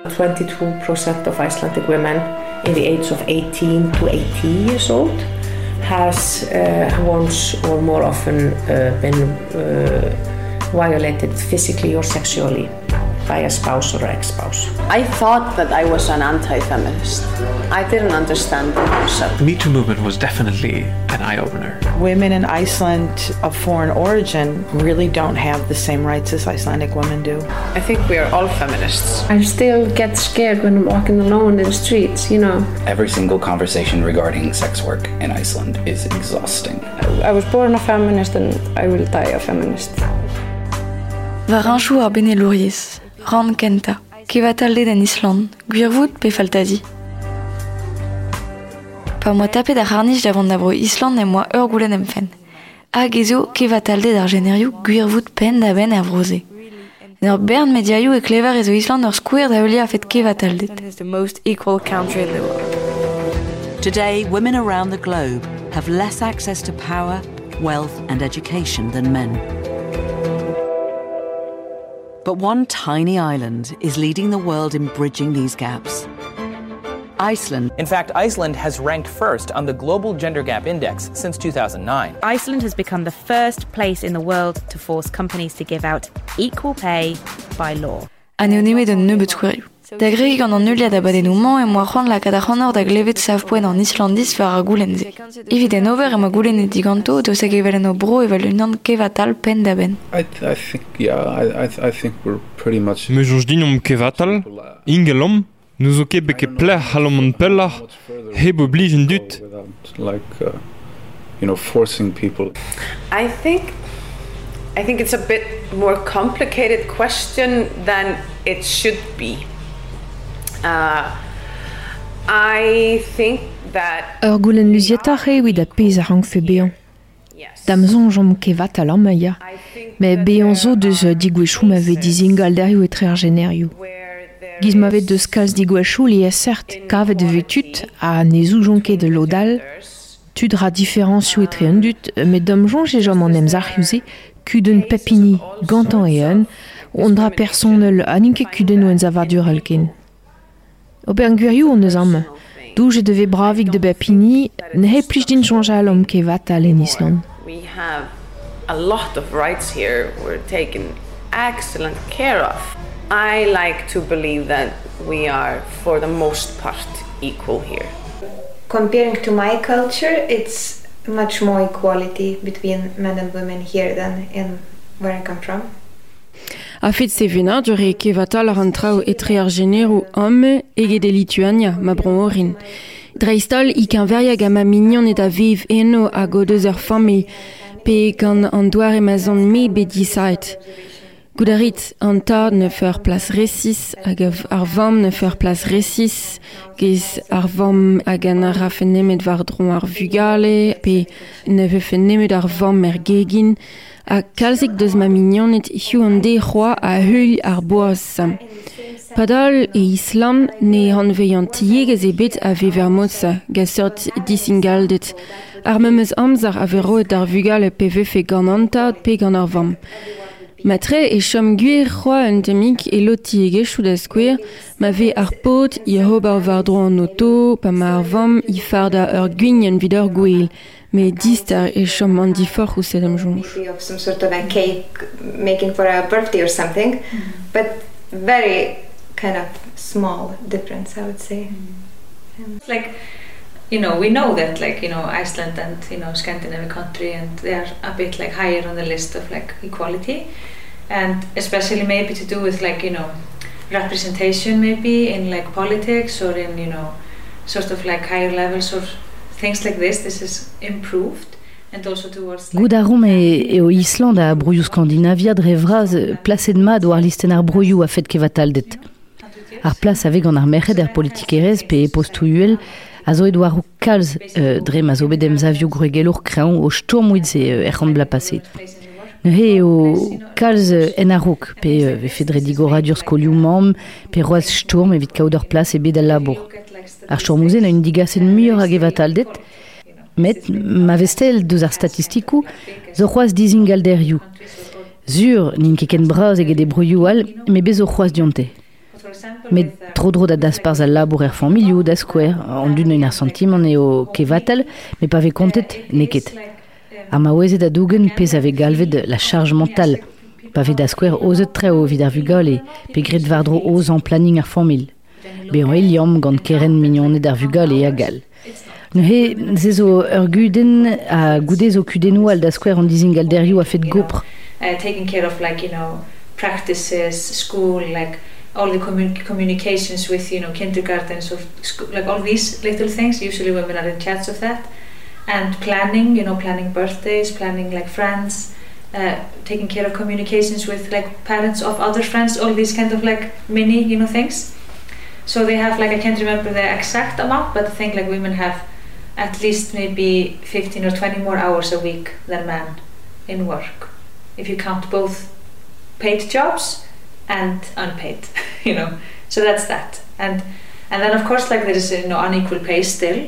22% of Icelandic women in the age of 18 to 80 years old has once or more often been violated physically or sexually by a spouse or ex-spouse. I thought that I was an anti-feminist. I didn't understand myself. The Me Too movement was definitely an eye-opener. Women in Iceland of foreign origin really don't have the same rights as Icelandic women do. I think we are all feminists. I still get scared when I'm walking alone in the streets, you know. Every single conversation regarding sex work in Iceland is exhausting. I was born a feminist and I will die a feminist. Varanchou ar benelouriez, ran kenta, kevatalde d'an Island, gwirvout pe faltazi. Pa moi tapet d'ar harnich davant d'abro Island et moi goulen emfen. Hag ezo kevatalde d'ar generiou gwirvout pen da ben ar vroze. N'ar bern mediaioù e klevar ezo Island ur skouer da eulia a fet kevataldet. It's the most equal country in the world. Today, women around the globe have less access to power, wealth and education than men. But one tiny island is leading the world in bridging these gaps. Iceland. In fact, Iceland has ranked first on the Global Gender Gap Index since 2009. Iceland has become the first place in the world to force companies to give out equal pay by law. Aneoneme d'un nebeut skoueriou. Da greg gant an euliad abadennou man e moa c'hoant la kadac'hanor da glevet savpoen an Islandis war ar goulenze. Evit en over ma goulenet diganto deus hag evelen o bro evel unan kevatal pen da ben. I think we're pretty much... Me jonj dinom kevatal, ingelom, nous o ket beke pleh halom an pellar, heb oblige un dut. Like, forcing people. I think it's a bit more complicated question than it should be. I think that... Ur goulen luzietach evit a pez a rank fe bean. Damzon jom kevat a lammaia. Me bean zo deus digwechou ma ve dizingal derioù etre ar generioù. Giz ma vet deus kalz digwechou li e cert kavet vetut a nezou jonket de lodal, tud ra diferencioù etre un dut, me dom jonge e jom an emz ariouse, kuden pepini gantan e un, on dra personel aninke kuden ou en zavardur alken. Ober gwirioù on eus am, douj e devez bravik de pepini, ne he plij din jonge alom kevat al en Island. We have a lot of rights here. We're taken excellent care of. I like to believe that we are, for the most part, equal here. Comparing to my culture, it's much more equality between men and women here than in where I come from. A fet sevena dure kevatal ar an trao etre ar generou homme ege de Lituania, ma bron orin. Dreistol ik an veriag a ma mignon et a viv eno a go deus ur familh, pe gant an doar e mazon me bedisait. Goudarit an tad ne feur plas resis hag ar vam ne feur plas resis, gez ar vam hag an ar rafe nemet war dron ar vugale, pe ne vefe nemet ar vam er gegin, a kalzik deus ma mignonet hiu an de c'hoa a hul ar boaz. Padal e Islam ne an veian tiegez e bet a vever moza, gasort disingaldet. Ar memeus amzar a veroet ar vugale pe vefe gant antad pe gant ar vam. Matre e chom gwir c'hoa un temik e loti egechou da skouer, ma ve ar pot i hobar war dro an auto, pa ma ar vam i farda ur gwign vid ur gweel, me distar e chom an difor ou sedam jonj. Of some sort of a cake making for a birthday or something, but very kind of small difference, I would say. It's like, we know that Iceland and Scandinavian country, and they are a bit higher on the list of equality, and especially maybe to do with representation maybe in politics or in sort of higher levels or things like this. This is improved. Goudarom eo Island a broioù Skandinavia dre vraz placed mad o ar listen ar broioù a fet kevataldet. Ar plas aveg an ar merc'hed politik erez pe postouuel a zo edo arou kalz dre ma zo bet emzavioù gregelour kreañ o stormouiz e bla paset. Ne he o kalz en arouk pe vefe dre digoradur skolioù mam pe roaz storm evit kaout ur plas e bet al labour. Ar stormouzen a un digasen muioc'h hag evataldet, met ma vestel deus ar statistikou zo c'hoaz dizingalderioù. Zur n'in ket ken braz eget e broioù al, me bez zo c'hoaz dionte. Met tro da daspars al labour familioù da skouer, an dun un ar sentimen eo kevatal, me pa ve kontet neket. Ma oezet a dougen pez ave galvet la charge mentale, pa ve da skouer ozet treo vid ar vugol e pe gret vardro oz an planning ar famil. Be an eliam gant keren mignonet ar vugol e a gal. Ne ze zo ur guden a goudez o kudenou al da skouer an dizingalderioù a fet gopr. Taking care of practices, school, all the communications with kindergartens, of school, all these little things. Usually women are in charge of that, and planning, planning birthdays, planning friends, taking care of communications with parents of other friends, all these kind of mini things. So they have I can't remember the exact amount, but I think women have at least maybe 15 or 20 more hours a week than men in work, if you count both paid jobs and unpaid, so that's that. And then of course there is unequal pay still,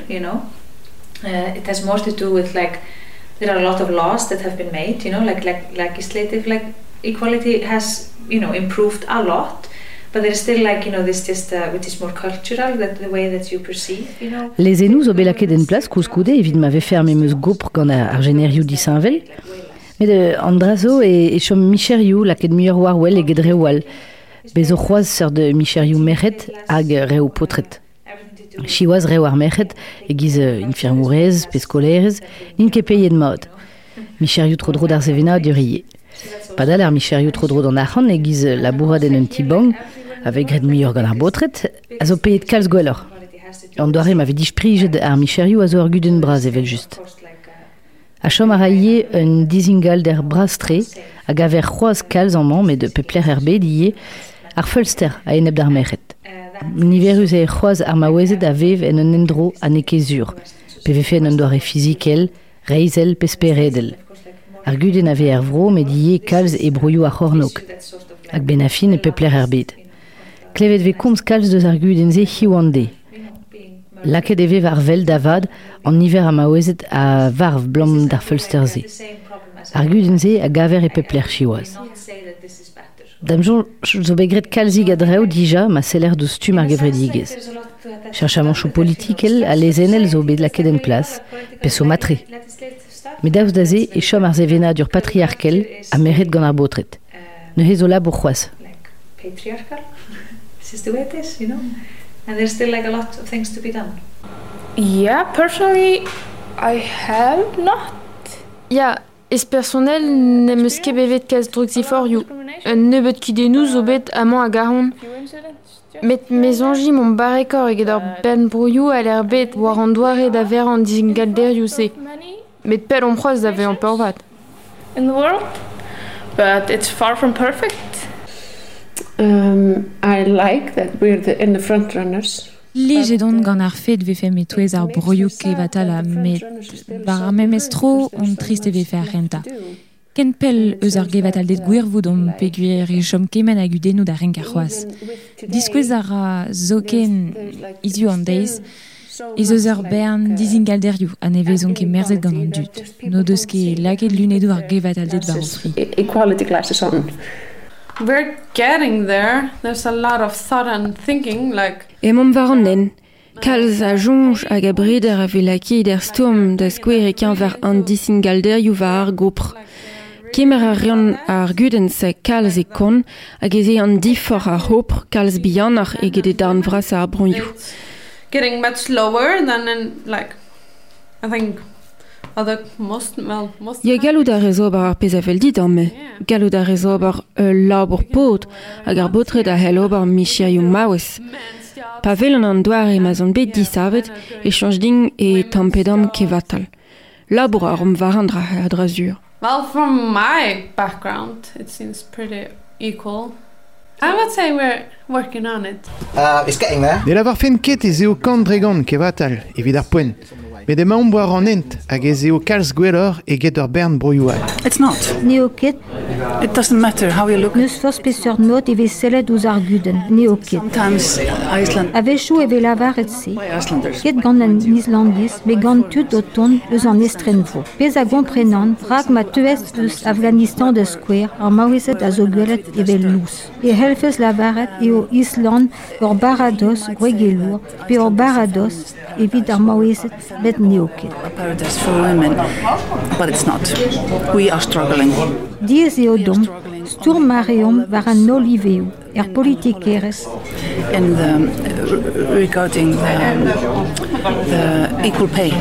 it has more to do with there are a lot of laws that have been made, legislative equality has improved a lot, but there is still this just which is more cultural, that the way that you perceive, Les enous o belaket en place kouskoude evit m'ave ferme meus gopr gant ar generiou disainvel. Met Andrazo e chom micherioù laket muiur warwell e gedrewal. Bezo c'hoaz seur de micherioù merc'het hag reo potret. Chiwaz reo ar merc'het e giz infirmourez, pescolerez, ket peyen mod. Micherioù tro-dro d'ar zevena duriye. Padal ar micherioù tro-dro d'an arc'han e giz labourad en un tibang, avec gret muiur gant ar botret, a zo peyet kalz gwellor. An doare m'ave disprijet ar micherioù a zo ur guden braz evel just. A chom a raie un dizingal der brastre hag a ver c'hoaz kalz an mamm de pepler bed ie ar feulster a eneb d'ar merc'het. Niverus e c'hoaz ar maouezet a vev en un endro a nekezur, pe vefe en un doare fizikel, reizel pesperedel. Ar guden a ve vro met ie kalz e brouillou a c'hornok, hag benafin e pepler bed. Klevet ve komz kalz deus ar guden ze hiwande. Laket eve var vel davad an niver a maouezet a varv blam d'ar feulsterze. Ar gudenze a gaver e pepler chiwaz. Damjon zo begret kalzig a dreo dija ma seller deus stum ar gevredigez. Cherchamanchou politikel a lezenel zo bet laket en plas, peso matre. Me daouz daze e chom ar zevena dur patriarkel a meret gant ar botret. Ne he zo la bourgeoise. Patriarchal? This is the way it is, And there's still a lot of things to be done. Yeah, personally, I have not. Ja, es personel ne meus ket bevet kaz drugziforioù. Un nebeut kudennou zo bet amañ a garon. Met mezonji mon barekor eget ur ben brouillou a l'air bet war an doare da ver an dizingalderioù se. Met pel on c'hoaz da ve an peurvat. In the world, but it's far from perfect. I like that we're in the front runners. Lijedon gant ar fet vefe metouez ar broioù kevatal a met bar ar memestro on triste vefe ar renta. Ken pel eus ar gevatal det gwirvoud on peguer e chom kemen a gudennoù da renk ar c'hoaz. Diskwez ar a zoken izu an deiz, ez eus ur bern dizingalderioù a nevezon ket merzet gant an dud. No deus ket laket lunedou ar gevatal det war o fri. Equality classes on. We're getting there. There's a lot of thought and thinking, Emom var an nen. Kalz a jonj hag a breder a velaki der stourm da skouerekañ war an dizingalderioù war ar gopr. Kemer a rian ar gudense kalz e kon hag eze an difor a hopr kalz bihanach eget e darn vras ar bronioù. Getting much lower than I think most. Ya gallout a rezober ar pezavel dit me. Gallout a rezober labour pot hag ar botret a helober micherioù maouez. Pa vel an doare ma zon bet disavet e chanj ding e tampedam kevatal. Labour ar varan dra drazur. Well, from my background, it seems pretty equal. I would say we're working on it. It's getting there. De lavar fen ket e zeo kant dregan kevatal, evit ar poen. Mais de maom boar an ent hag ez eo kalz gwellor e get ur bern broioal. It's not. Neoket. It doesn't matter how you look. Neus fos pesur not eve sellet ouz arguden. Neoket. Sometimes Iceland. Avechou eve lavaret se. Ket gant an islandis, me gant tud o ton eus an estrenvo. Pez a gomprenan, rag ma teuest eus Afghanistan de square, ar maouezet a zo gwelet eve lous. E helfez lavaret eo Island ur barados gwegelour, pe ur barados evit ar maouezet bet neoket. A paradise for women, but it's not. We are struggling. Diez eo dom, sturm mareom war an oliveo, politikeres. And regarding the equal pay.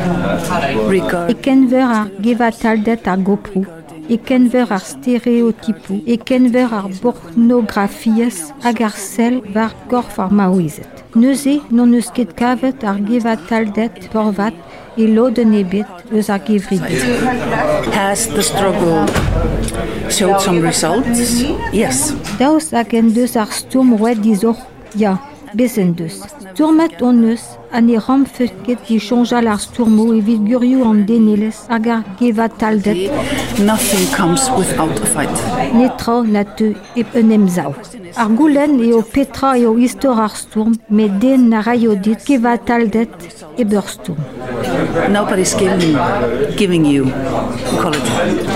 E kenver ar gevataldet ar gopru, e kenver ar stereotipu, e kenver ar pornografiez hag ar sel var gorf ar maouezet. Neuze non eus ket kavet ar gevataldet porvat e loden ebet eus ar gevridet. Has the struggle showed some results? Yes. Daoust hag en deus ar sturm rouet dizor, ja, bezen deus. Sturmet on eus, an e ram feuket di chonjal ar sturmo evit gurioù an denelez hag ar gevataldet. Nothing comes without a fight. Netra na teu ep un emzao. Ar goulenn eo petra eo istor ar sturm, met den na raio dit gevataldet e beur sturm. Nobody's giving you equality.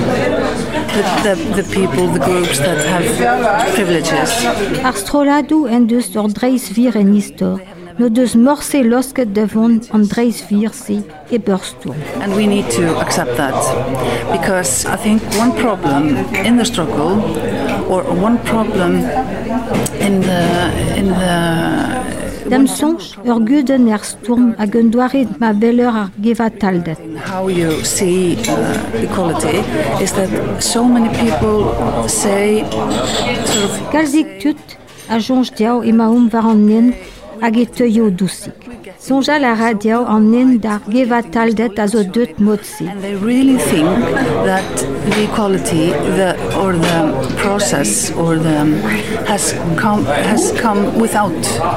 The people, the groups that have privileges. Ar strolladou en deus ur dreiz vir en istor, no deus morse losket devon an dreiz vir se e beur sturm. And we need to accept that, because I think one problem in the struggle, or one problem in the Dem sonj ur guden er sturm hag un doaret ma belleur ar gevataldet. How you see equality is that so many people say sort of... Galzik tut a jonj diao e maoum var an nen hag e teuio dousik. Sonjal a radiao an nen d'ar gevataldet a zo deut modse. And they really think that the equality or the process or the has come without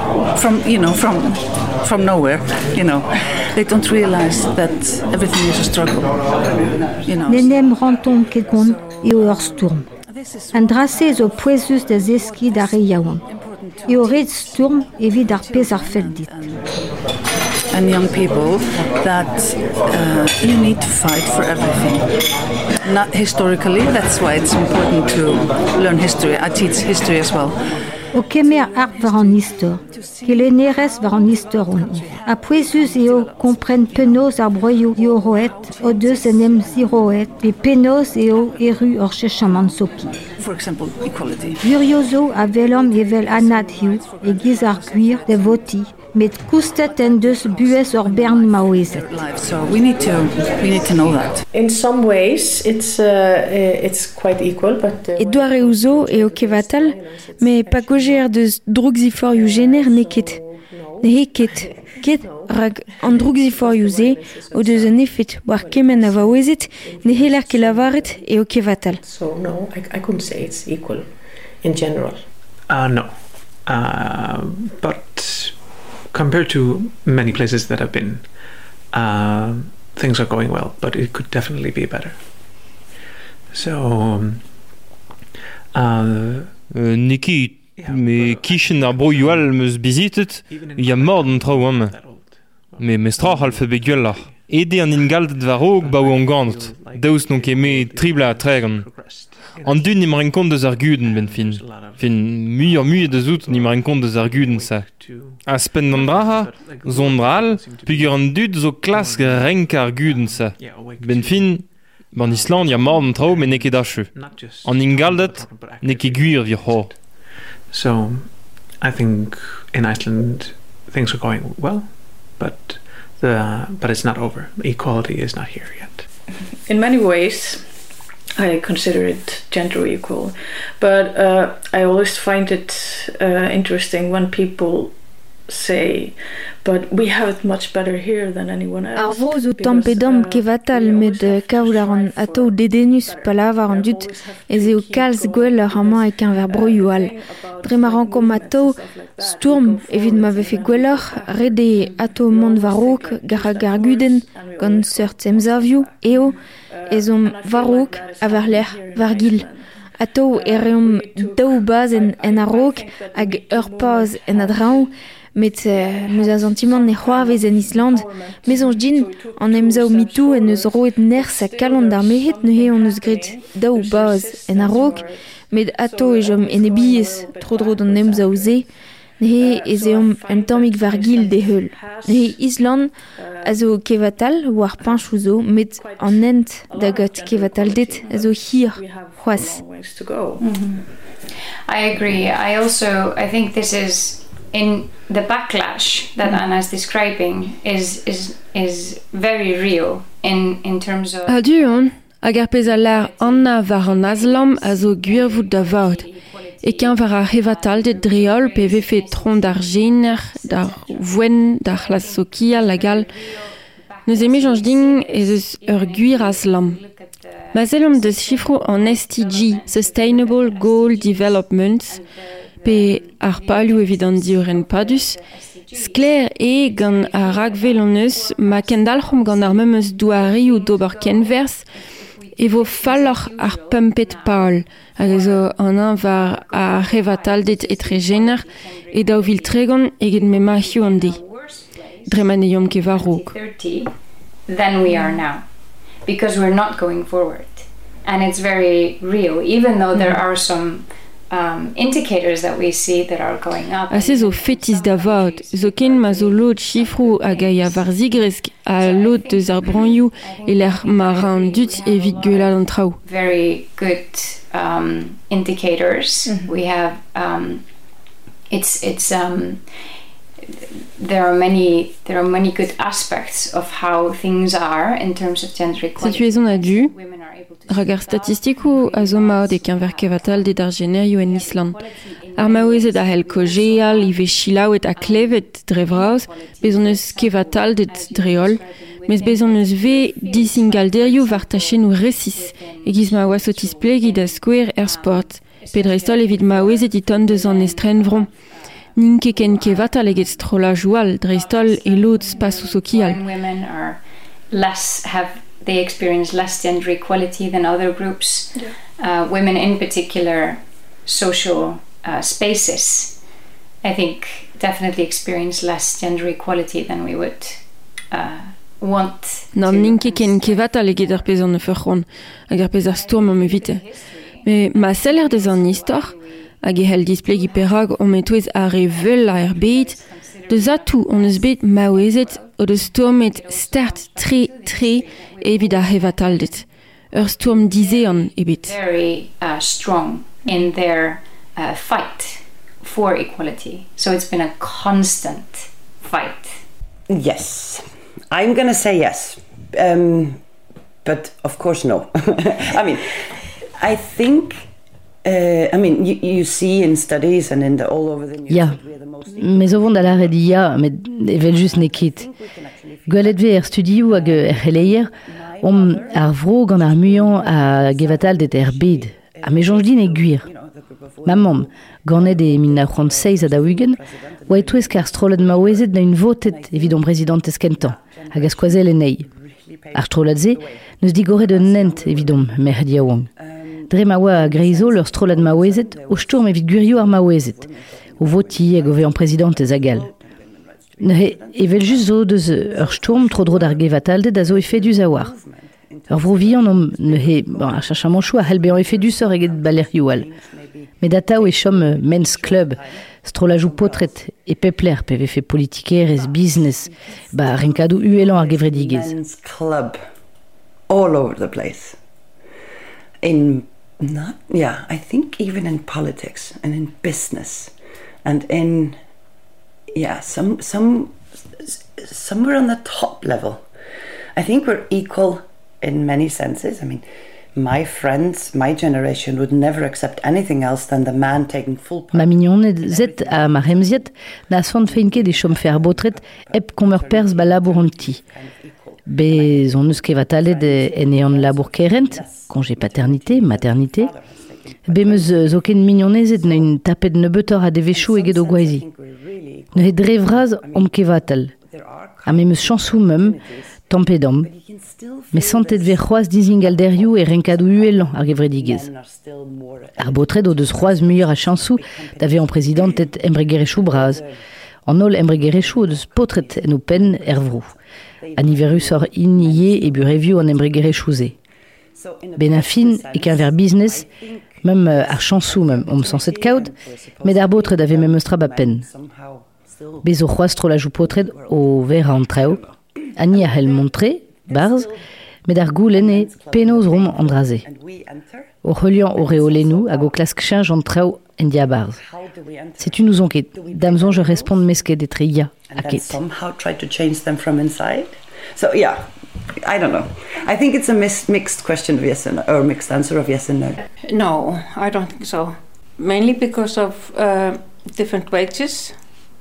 from nowhere, They don't realize that everything is a struggle, Nenem ranton ket gont eo ur sturm. An drase zo poezus da zeski da reiaouan. Eo red sturm evit ar pez ar fel dit. And young people that you need to fight for everything. Not historically, that's why it's important to learn history. I teach history as well. O kemer ar var an istor, ke lenerez var an istor on i. A poezus eo kompren penaos ar broioù eo roet, o deus en em ziroet, pe penaos eo eru ur chechaman sopi. For example, equality. Guriozo a velom evel anat hiu, e giz ar gwir de voti, met koustet en deus buez ur bern maouezet. So we need to know that. In some ways, it's quite equal, but... E doare ouzo eo kevatal, me pa gojer deus drugziforioù gener neket. Ne heket, ket rag an drugziforioù ze, o deus an efet war kemen a vaouezet, ne heler ke lavaret eo kevatal. So no, I couldn't say it's equal in general. No. But compared to many places that I've been, things are going well, but it could definitely be better. So, Niki, me kishen ar broioal meus bizitet, ya mord an traoam. Me mestrach al fe begullar. Ede an ingaldet var og ba an gant, daous non keme tribla a tregan. An dun nimmer en kont deus ar guden ben fin. Fin muier deus out nimmer en kont deus ar guden sa. Aspen an draha, zon dral, pugur an dud zo klask renk ar guden sa. Ben fin, ban Island ya mord an trao men neke dache. An ingaldet, neke gwir vi ho. So, I think in Iceland things are going well, but it's not over. Equality is not here yet. In many ways, I consider it gender equal, but I always find it interesting when people say, but we have it much better here than anyone else. Ar vro zo tampedam kevatal met kaoularan ato dedenus palavar an dut ez eo kalz gwell ar amañ ek un ver broyoual. Dre marankom ato sturm evit ma vefe gwellor rede ato mont varok gara garguden gant seurt emzavioù eo ezom varok a ver l'er vargil. Ato ereom daou baz en arok hag ur paz en adrao met neus a sentiment ne c'hoarvez en Island. Mezonj din an emzao mitou en eus roet ners a kalon d'ar mehet neuhe on eus grit daou baz en arok met ato ejom en ebiez tro-dro d'an emzao ze nehe ez eom un tammig vargil de heul. Nehe Island a zo kevatal war pinchou zo met an ent da got kevatal det a zo hir c'hoaz. I agree. I think this is in the backlash that Anna is describing is very real in terms of. Aduon, hag ar pez a l'ar Anna war an aslam a zo gwirvout da vaud. Eken war ar hevatal de dreol pe vefe tron d'ar gener, d'ar voen, d'ar las sokia lagal. Neus emejanj din ez eus ur gwir aslam. Ma zelom deus chifro an SDG, Sustainable Goal Development, pe ar palioù evident diouren padus, skler e gant a ragvel an eus ma kendalc'hom gant ar memeus douarioù d'ober kenvers e vo falloc'h ar pumpet paol, hag ezo an war a revatal dit etre gener e daou vil tregon eget me mahioù an di. Dreman eom ke varok. Than we are now, because we're not going forward. And it's very real, even though there are some indicators that we see that are going up. A se zo fetis da vaud, zo ken ma zo lot chifrou hag a ya var zigresk a lot deus ar branioù e l'er maran dut evit guelal an traoù. Very good indicators. We have there are many good aspects of how things are in terms of gender equality. Situaison a du ragar statistikou a zo maod ek un ver kevatal de dar generioù en Island. Ar maouezet a hel kojeal, ive chilaouet a klevet dre vraoz, bezon eus kevatal dit dreol, mes bezon eus ve disingalderioù var tachenou resis, e giz ma oa sotis plegid a skouer sport. Pedrestol evit maouezet diton deus an estren vron. Nin ken kevatal eget strola joual, dreistol e lot spasou sokial. Women they experience less gender equality than other groups. Women in particular, social spaces, I think definitely experience less gender equality than we would want. Nan nin ken kevatal eget ar pezan ne feuchon, hag ar pez ar stourm am evite. Me ma seller deus an istor, hag e hel displegi perag on metouez ar e veul a er bet, deus atou on eus bet maouezet o deus stourmet stert tre evit ar hevatal dit. Ur stourm dizean ebet. Very strong in their fight for equality. So it's been a constant fight. Yes. I'm going to say yes. But of course no. I mean, I think you see in studies and in all over the news. Ja, mais o vont da lare di ja, met evel just nekit. Gwelet ve studioù hag releier, ar vro gant ar muiañ a gevatal det bed. A me jonj din e gwir. Mamam, ganet e 1936 a daougen, oa etouez kar strolet maouezet na un votet evit on prezident eskentan, hag a skoazel enei. Ar strolet ze, neus digoret un nent evit on merdi a oang. Dre ma oa a greizo leur strolet maouezet o stourm evit gwirioù ar maouezet, o voti hag o ve an prezident ez agal. Ne evel just zo deus ur stourm tro-dro d'ar gevataldet a zo efedus a war. Ur vro vihan ne a chachamanchou a hel behan efedus ur eget balerioù. Met dataou e chom men's club, strolajou potret e pepler pe vefe politikerez, business, renkadou uelan ar gevredigez. Men's club, all over the place. I think even in politics and in business and in somewhere on the top level. I think we're equal in many senses. I mean, my friends, my generation would never accept anything else than the man taking full part. Ma mignonet zet a ma remziet na son feinke de chom fer botret ep kommer pers ba laboranti. Bez on eus kevatalet en eon labour kerent, congé paternité, maternité. Be meus zoken mignonezet na un tapet nebetor a devechou eget o gwaezi. Ne he dre vraz om kevatal. A me meus chansou mem, tampedam. Me santet ve c'hoaz dizingal derioù e renkadou uelan ar gevredigez. Ar botret o deus c'hoaz muier a chansou da ve an prezidentet embregerechou braz. An ol embregerechou o deus potret en o pen ervrou. Aniverus or innie e burevio an embregerechouze. Ben a fin e qu'un ver business, même ar chansou même om sanset kaout, met ar botret ave mem eustra ba pen. Bez o c'hoaz tro la jou potret o ver an treo, ani a hel montre, barz, met ar goulen e penoz rom an draze. O c'heulian o reolenou hag o klask chinj an treo en dia barz. Setu nous on ket, damzon je respond mesket etre ya a ket. Somehow try to change them from inside. So yeah, I don't know. I think it's a mixed question of yes and no, or mixed answer of yes and no. No, I don't think so. Mainly because of different wages,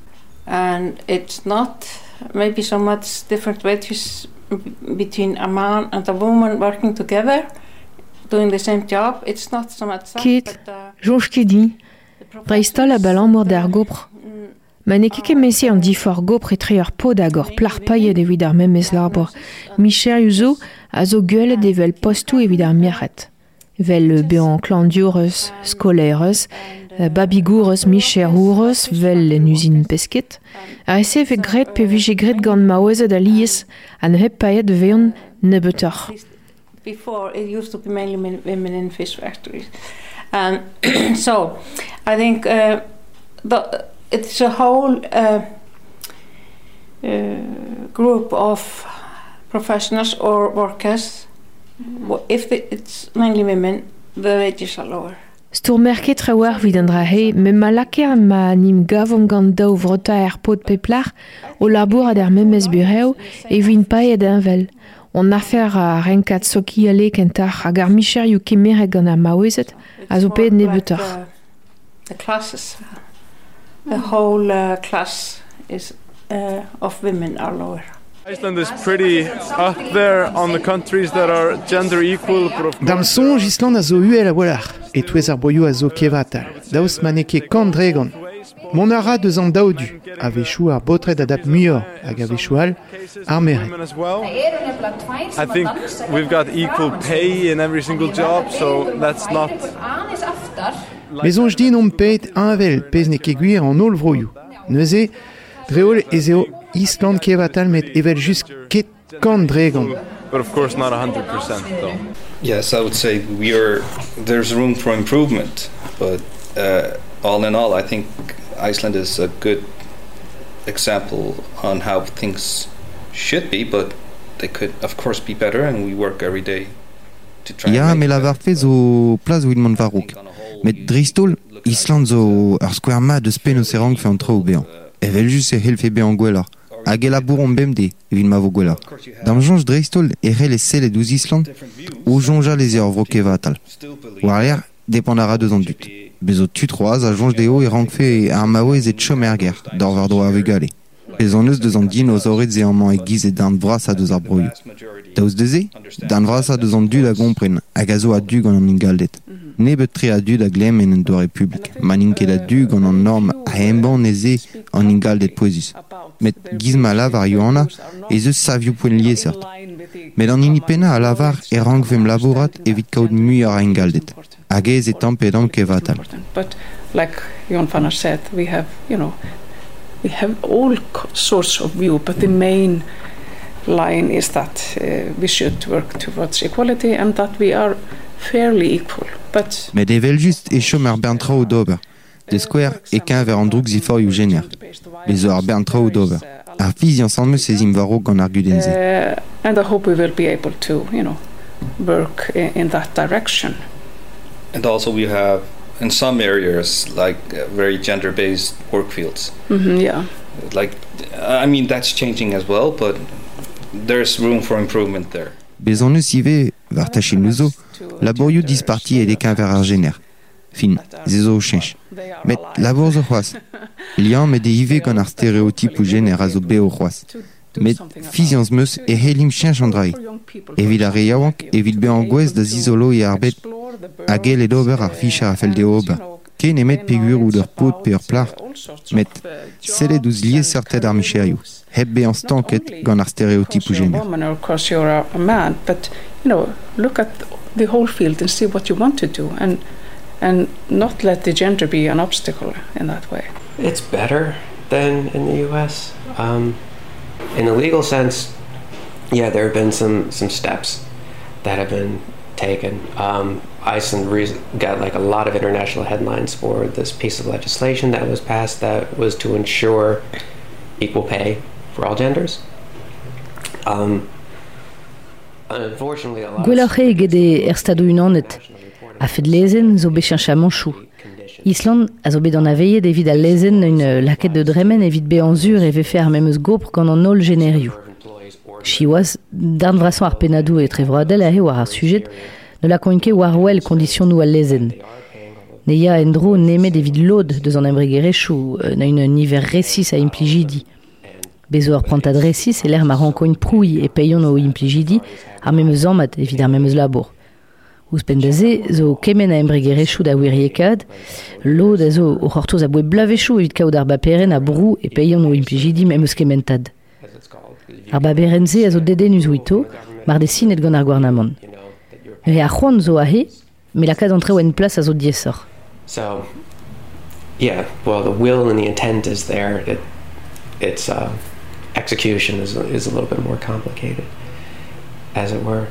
and it's not maybe so much different wages between a man and a woman working together, doing the same job. It's not so much that. Kit, jonge kedi, dreistol a balan mor d'ar gopr. Ma keke mesi an difor gopr etre pod agor plar paillet evit ar memes labor. Micher yuzo a zo guelet evel postou evit ar miachet. Vel bean klandioreus, skolereus, babigourus, micherourus, vel en usine pesket. A ese ve gret pe vije gret gant maouezet a lies an hep paillet veon nebetor. Before it used to be mainly women in fish factories. So I think it's a whole group of professionals or workers. If it's mainly women, the wages are lower. Stour merket trewar vid an dra he, me ma laker ma nim gavom gant daou vrota er pod peplar o labour ad er memes bureo e vin paet envel. On affaire a renkat soki ale kentar hag ar micher you kemere gant ar maouezet a zo pet nebetor. The classes, the whole class is of women are lower. Iceland is pretty up there on the countries that are gender equal. Dam sonj Island a zo uel a walar, et touez ar boio a zo kevatal. Daoust maneke kandregan. Mon ara deus an daodu, a vechou ar botret adap muior, hag a vechou al ar mere. I think we've got equal pay in every single job, so that's not... Mais onj din om peit anvel pez ne keguir an ol vroioù. Neuze, dreol ez eo Island kevatal met evel just ket kandregan. But of course not 100% though. Yes, I would say there's room for improvement, but all in all, I think Iceland is a good example on how things should be, but they could of course be better, and we work every day to try. Ja, me lavar fez o plaz Wilmon Varrouk. Met dristol, Island zo ur square ma de spen o serang fe an trao bean. Evel just e helfe bean gwelar. Hag e labour on bemde, evit ma vo gwelar. Dam jonge dristol e re les sellet ouz Island, o jonja les eo vro kevatal. War l'air, dependara deus an dut. Bezot tutroaz a jonge deo e rankfe ar maouez et chomerger, d'or var droa avegale. Bez an eus deus an dinosauriz e an man e giz e d'an vras a deus ar broioù. Daouz deze, d'an vras a deus an dud a gompren, hag a zo a dug an an ingaldet. Ne bet tre a dud a glem en doare publik. Manin ket a dug an an norm a emban eze an ingaldet poezus. Met gizma lavar yoana, ez eus savioù poen lié cert. Met an inipena a lavar e rankfem labourat evit kaout muiar a ingaldet. Hag ez e tampedam kevatal. But like Jon Fannar said, we have all sorts of view, but the main line is that we should work towards equality and that we are fairly equal. But Met evel just e chom ar bern trao d'ober. De square e qu'un ver an droug zifor you gener. Bez ar bern trao d'ober. Ar fiz yan san meus ezim varo gant ar gudenze. And I hope we will be able to, work in that direction. And also we have, in some areas, like very gender-based work fields. Yeah. I mean, that's changing as well, but there's room for improvement there. Bez an eus ive vartachil nuzo, laborioù disparti edekin ver ar gener. Fin, zezo o chench. Met labor zo c'hoaz. Liam met de ive gant ar stéréotype ou gener a zo beo c'hoaz. Met fizianz meus e helim chench an drai. Evit ar reiaouank, evit be an gwez da zizolo e arbet a gel ed ober ar ficha a fel de ober. Ken emet pegur ou d'ur pot pe ur plar, met sellet ouz liez certed ar micherioù. Heb be an stanket gant ar stéréotype ou gener. Of course you're a man, but you know, look at the whole field and see what you want to do, and not let the gender be an obstacle in that way. It's better than in the US. In the legal sense, yeah, there have been some steps that have been taken. Iceland got like a lot of international headlines for this piece of legislation that was passed that was to ensure equal pay for all genders. Unfortunately, a lot Gwelloc'h gede stado unanet a fet lezen zo bechencha manchou. Island a zo bet an aveillet evit a lezen un laket de dremen evit be an zur e vefe ar memeus gopr gant an ol generioù. Chioaz, d'arn vrasan ar penadou e trevroadel a he war ar sujet, ne la koinke war wel kondition nou al lezen. Neia endro nemet evit lod deus an embregerechou, na un niver resis a implijidi. Bezo ar prantad resis e l'er ma rankoin prouy e peion o implijidi, ar memeus amad evit ar memeus labor. Ouz pendaze, zo kemen a embregerechou da wiriekad, lod a zo o c'hortoz a boe blavechou evit kaout ar baperen a brou e peion o implijidi memeus kementad. Ar baberenze a zo deden uz ouito, mar de sinet gant ar gwarnamant. E a c'hoant zo a he, me la kad antre oen plas a zo diesor. So, yeah, well, the will and the intent is there. It's execution is a little bit more complicated, as it were.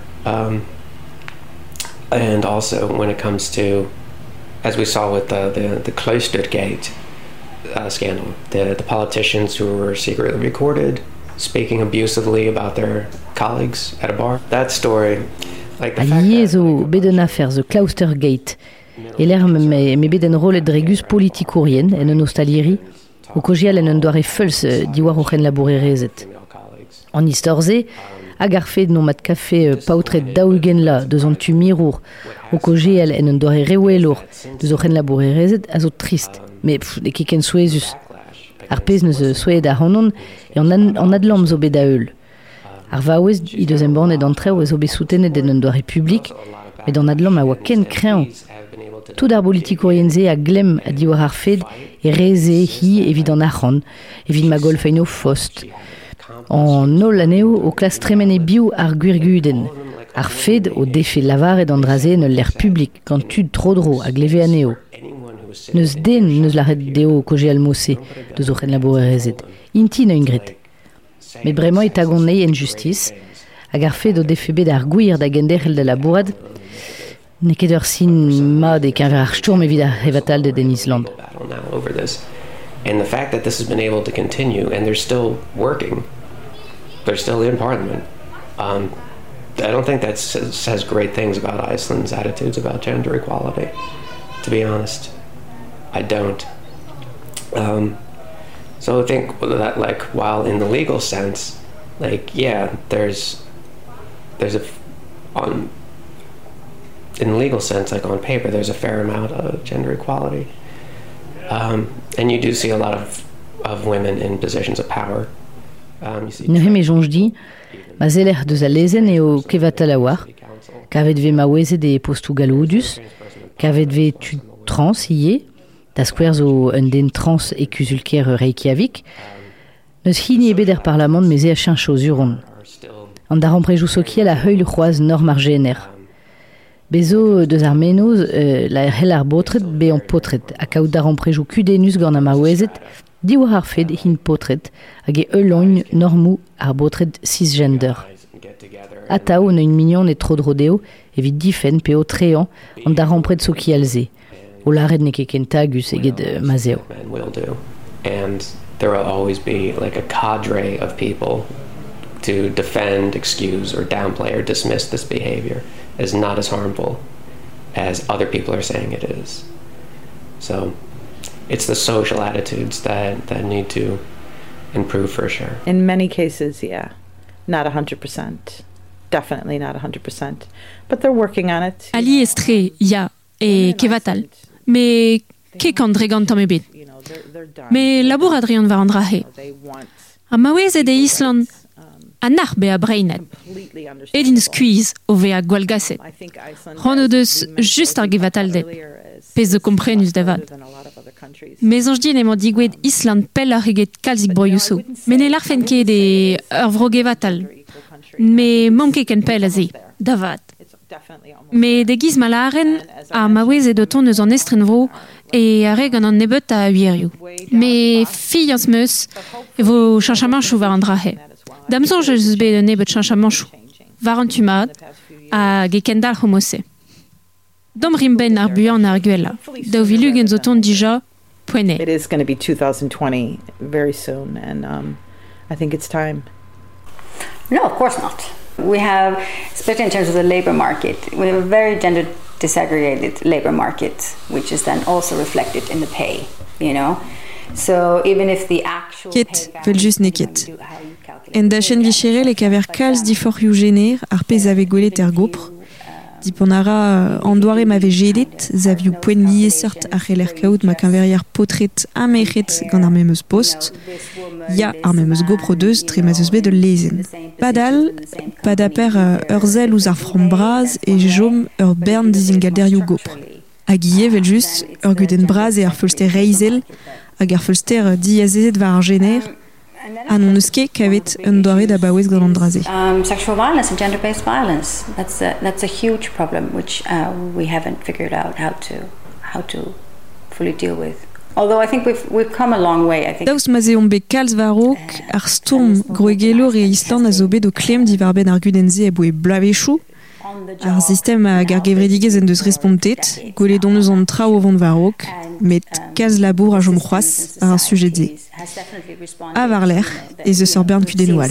And also when it comes to, as we saw with the Klostergate scandal, the politicians who were secretly recorded speaking abusively about their colleagues at a bar. That story, like the fact that... zo beden afer, the Klostergate. E l'er me beden rolet dregus politikourien en un ostaliri, o kojial en un doare feulz diwar oc'hen labourerezet. An istorze, hag ar fed non mat kafe paotret daougen la deus an tu mirour, o kojial en un doare rewelor deus oc'hen labourerezet a zo trist, me ne keken souezus. Ar pez neus souet ar hanon e an adlam zo bet a eul. Ar vaouez i deus embornet an treo zo bet soutenet en un doare publik, met an adlam a oa ken krean. Tout ar politikourienze a glem a diwar ar fed e reze hi evit an arran, evit ma golfein o fost. An nol aneo o klas tremen e biou ar gwirguden. Ar fed o defe lavar ed an draze en l'er publik gant tud trodro a gleve aneo. Neus den neus l'arret deo koje al mosse deus oc'hen labourerezet. Inti na ungret. Met bremañ e tagon nei en justice, hag ar fed o defe bet ar gwir da genderel da labourad, ne ket ur sin mad e kenver ar sturm evit ar hevatal de den Island. And the fact that this has been able to continue and they're still working, they're still in parliament, I don't think that says great things about Iceland's attitudes about gender equality, to be honest. I don't. So I think that, like, while in the legal sense, like, yeah, there's in the legal sense, like on paper, there's a fair amount of gender equality. And you do see a lot of women in positions of power. Ne me jonge di, ma zeler deus a lezen eo kevatal a war, kavet ve ma wezet e postou galoudus, kavet ve tud trans ie, da skwer zo un den trans e kuzulker Reykjavik, neus hini ebe der parlament meze a chincho zuron. An da ramprejou sokiel a heul c'hoaz norm ar gener. Bezo deus ar menoz la hel ar botret be an potret, a kaout da ramprejou kudenus gant a ma wezet, diwar ar fed hin potret, hag e eulogne normou ar botret cisgender. Atao ne un mignon e trodrodeo evit difen pe o trean an da rampret sokielze. O laret ne ket kentagus eget mazeo. And there will always be like a cadre of people to defend, excuse, or downplay or dismiss this behavior as not as harmful as other people are saying it is. So it's the social attitudes that need to improve for sure. In many cases, yeah, not 100%. definitely not 100%, but they're working on it. Ali estre, ya, e kevatal. Me ke kandregan tamebet. Me labor Adrian var andrahe. A mawez e de Island anar be a breinet. Edin squeeze o ve a gwalgaset. Ron deus just ar gevatal det. Pez de komprenus davad. Mais anj din emañ digwed Island pel ar eget kalzik broioù. Men e larfen ket de ur vro gevatal. Me mam ket ken pel a ze, davad. Me de giz malaren a mawez e de ton eus an estren vro e a reg an an nebet a huirioù. Me fi ans meus e vo chanchamanchou var an drahe. Damson je eus bet de nebet chanchamanchou. Var an tumad a ge kendal homose. Dom rimben ar buan ar gwella. Da ovilu gen zo ton dija poene. It is going to be 2020 very soon, and I think it's time. No, of course not. We have, especially in terms of the labor market, we have a very gender disaggregated labor market, which is then also reflected in the pay, you know? So even if the actual ket vel just neket. En da chen vicherel e kaver kalz diforioù gener ar pez ave gwelet er gopr. Diponara andoare m'ave jedet, zaviou poen lié sort ar c'heller kaout ma kanveriar potret amechet gant ar memeus post. Ya ar memeus gopro deus tre ma zeus bet de lezen. Padal, padaper ur zel ouz ar frambraz e jom ur bern dizingalderioù gopr. Hag ie vel just ur guden braz e ar feulster reizel hag ar feulster diazezet war ar gener. An eus ket kavet un doare da baouez gant an draze. Sexual violence and gender-based violence, that's a huge problem which we haven't figured out how to fully deal with. Although I think we've come a long way, I think. Daoust ma zeon be kalz varok ar storm groegelor e Island a zo bet o klem divar ben ar gudenze e boe blavechou. Ar sistem a gargevredigez en deus respontet, gwele don eus an trao o vant varok, met kalz labour a jom c'hoaz ar sujet ze. A var l'air, e zeus ur bern kudenoual.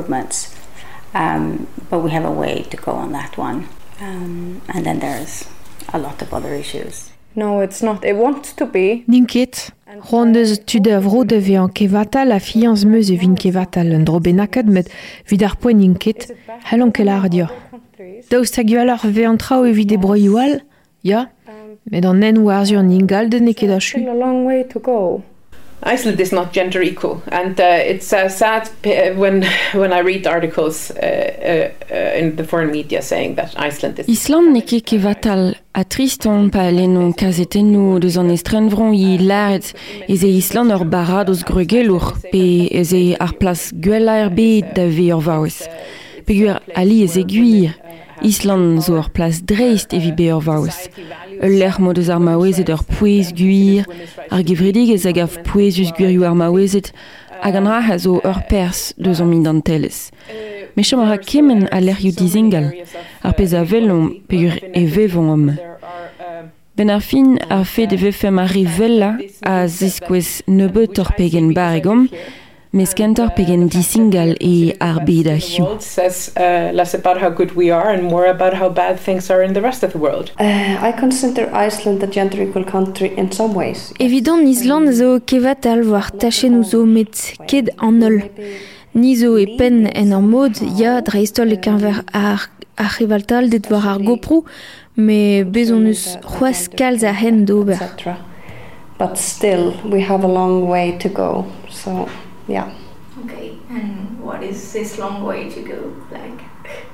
But we have a way to go on that one. And then there's a lot of other issues. No, it's not. It wants to be. Ninket, ron deus tu da vro de ve an kevatal a fianz meus e vin kevatal un dro benakad met vid ar poen ninket, halon kel ar dio. Daoust hag eo ar ve an trao e vide broioal, ya, met an en warzio an ingal de neket a chu. A long way to go. Iceland is not gender equal, and it's sad when I read articles in the foreign media saying that Iceland is. Island ne ket kevatal a triston pa lennon kazetenno deus an estrenvron i laret ez e Island ur barad oz grugelour pe ez e ar plas gwella er bet da ve ur vaouez. Pegur ali ez e gwir, Island zo ur plas dreist evi be ur vaouez. L'er mod eus ar maouezet ur pouez gwir, ar gevredigez hag av pouezus gwirioù ar maouezet, hag an ra zo ur pers deus an min dantellez. Me chom ar kemen a lerioù dizingal, ar pez a velon pegur e vevon om. Ben ar fin ar fe de vefem ar rivella a zeskwez nebeut ur pegen baregom, mes kentor pegen disingal e ar bed a hiu. Says less about how good we are and more about how bad things are in the rest of the world. I consider Iceland a gender equal country in some ways. Evident Island zo kevatal war tachen zo met ket an ol. Ni zo e pen en ar mod, ya dreistol e kanver ar rivaltal det war ar gopro, me bezonus c'hoaz kalz a hen d'ober. But still, we have a long way to go, so... Yeah. Okay, and what is this long way to go like?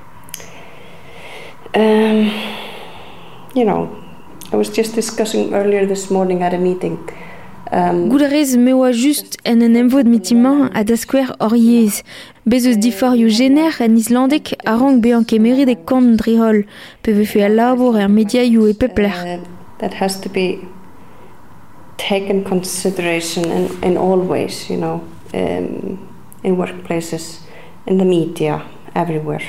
You know, I was just discussing earlier this morning at a meeting. Gouderez me oa just en emvod mitiman a da skwer oriez. Bezeus diforioù gener en Islandek a rank be an kemerit e kant drihol, pe vefe a labour er mediaioù e pepler. That has to be taken consideration in all ways, you know. In workplaces, in the media, everywhere.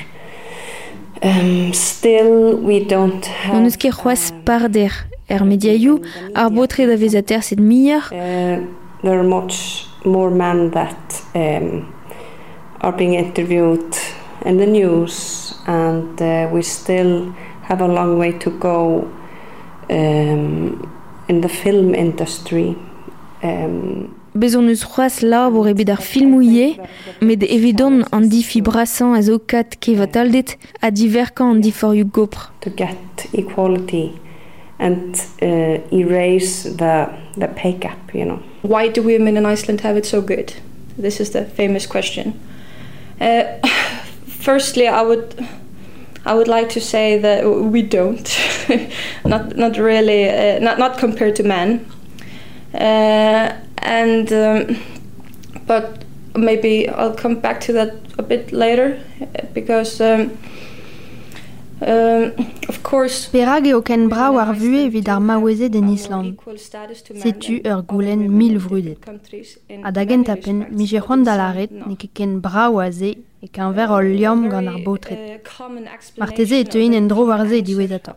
Still, we don't have... On eus ket c'hoaz parder er mediaioù ar botre da vezater sed mier. There are much more men that are being interviewed in the news, and we still have a long way to go in the film industry. bezonus c'hoaz labor ebet ar filmouie, met evidon an difi brasan a zo kat kevataldet a diverkan an diforioù gopr. To get equality and erase the pay gap, you know. Why do women in Iceland have it so good? This is the famous question. Firstly, I would like to say that we don't, not really, not compared to men, but maybe I'll come back to that a bit later, because of course. Perag eo ken brao ar vue evit ar maouezet en Island. Setu ur goulenn 1000 vrudet. A dagent apen, mi je c'hoant da laret ne ket ken brao a ze e ken ver ol liam gant ar botret. Marteze e teuin en dro war ze diwezat.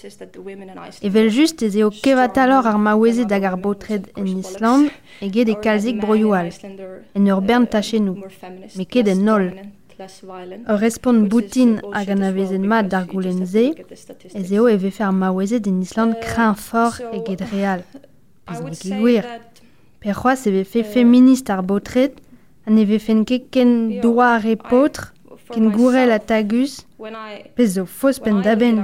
Evel just ez eo kevatalor ar maouezet dag ar botret en Island eget e kalzik broioal. En ur bern tachenou, me ket en nol. Ur respond boutin hag an avezen mat d'ar goulenn ze, ez eo e vefe ar maouezet en Island kreñv fort eget real. Pez ne ket gwir. Per c'hoaz e vefe feminist ar botret, an e vefen ket ken doa ar epotr, ken gourel a tagus, pez zo fos pen daben.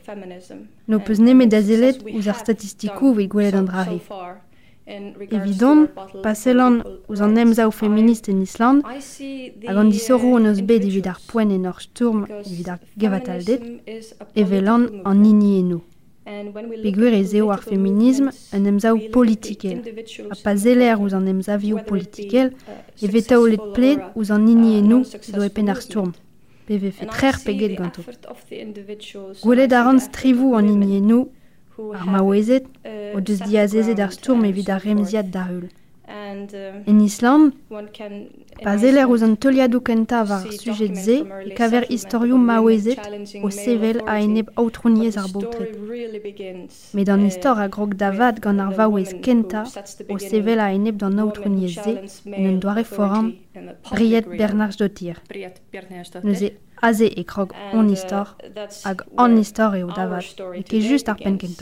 No peus nemet da zelet ouz ar statistikou ve gwelet an drare. Evidon, paselan ouz an emzaou feminist en Island, hag an disorou an eus bet evit ar poen en ur sturm evit ar gevataldet, evelan an nini eno. Peguer ez eo ar feminism an emzaou politikel, a pa zeler ouz an emzavioù politikel, evet aolet pled ouz an nini eno zo epen ar sturm. Pe vefe trer peget ganto. Gwelet a ran strivou an nini eno, ar maouezet, o deus diazezet ar sturm evit ar remziad da heul. En Island, pa zeler ouz an teuliadou kenta war sujet ze, e kaver historiou maouezet o sevel a eneb outrouniez ar botret. Met an istor a grog davad gant ar vaouez kenta o sevel a eneb d'an outrouniez ze en un doare foran Briet Bernard Dottir. Neuze aze e krog on istor hag an istor eo davad, e ket just ar pen kenta.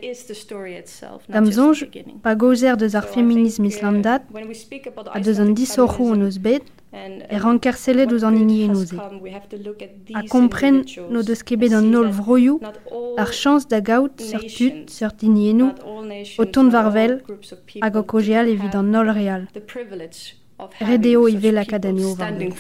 Dam zonj, pa gozer deus ar feminism islandat, a deus an disorou an eus bet, e rankerselet ouz an ini enoze. A kompren no deus ket bet an nol vroioù, ar chans da gaout seurt tud, seurt ini enou, o tont varvel, hag o kojeal evit an nol real. Redeo i vel akadaneo varvel.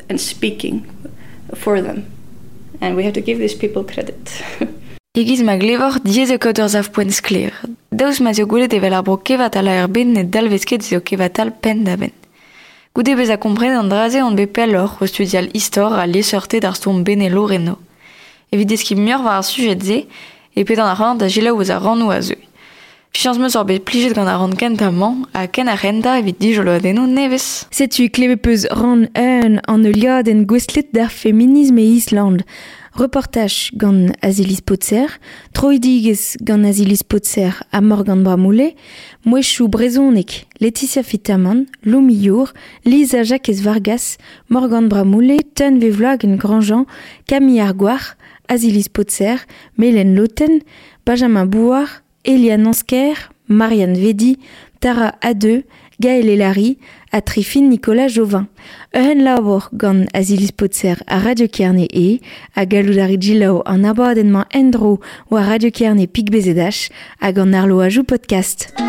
For them, and we have to give these people credit. Egiz ma glevor diez eo ur zav poent skler. Daouz ma zio goulet evel ar bro kevatal a ben net dalvezket zio kevatal pen da ben. Goude bez a kompren an draze an bepel or o studial histor a leseurte d'ar stourm benelo reno. Evit eski miur war ar sujet ze, e pet an ar rand a jela ouz a rannou a zeu. Fianz meus bet plijet gant a rand kentaman, a ken a renda evit dijolo adeno nevez. Setu kleve peus ran an euliad en gwestlet d'ar feminisme e Island. Reportage gant Azilis Potser, troidigez gant Azilis Potser a Morgan Bramoulet, Mouechou Brezonek, Laetitia Fitaman, Lomi Your, Lisa Jacques Vargas, Morgan Bramoulet, Ten Vevlag en Grandjean, Camille Arguar, Azilis Potser, Mélène Loten, Benjamin Bouard, Eliane Ansker, Marianne Vedi, Tara Adeu, Gaël Elari, a Trifine Nicolas Jovin. Euren labor gant Azilis Potser a Radio Kerne a galoudari djilao an abadenman endro ou a Radio Kerne pik bezedach, a gant narlo ajou podcast.